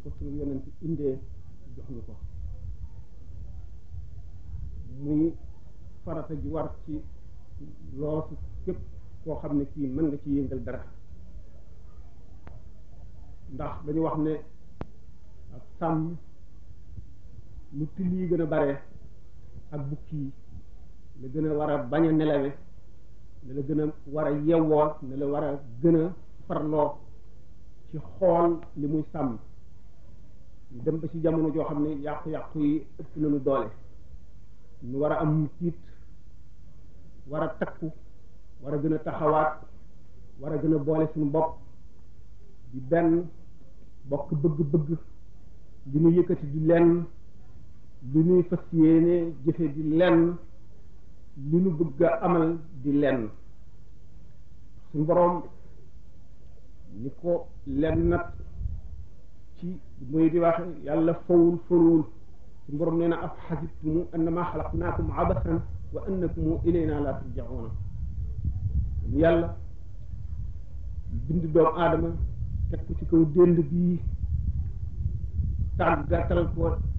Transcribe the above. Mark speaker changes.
Speaker 1: ko suñu yonent indee jox ñu ko muy farata ji war ci loosu képp koo xam ne kii mën nga ci yëngal dara ndax dañu wax ne ak sàmm lu till yi gën a bare ak bukki yi la gën a war a bañ a nelawe ne la gën a war a yewwoo ne la war a gën a farloo ci xool li muy sàmm dem ba ci jamono joo xam ne yàqu-yàqu yi ëpp nañu doole ñu war a am tiit war a takku war a gën a taxawaat war a gën a boole suñu bopp di benn bokk bëgg-bëgg li ñu yëkkati di lenn li ñuy fas yéene jëfe di lenn li ñu bëgg a amal di lenn suñu boroom ni ko lenn nag ci muy di wax yàlla fawul faruwul suñu boroom nee na af xasibtumu annama xalaqnaakum abasan wa annakum ilayna la turjauna yàlla bind doomu aadama teg ko ci kaw dénd bii tàggatal ko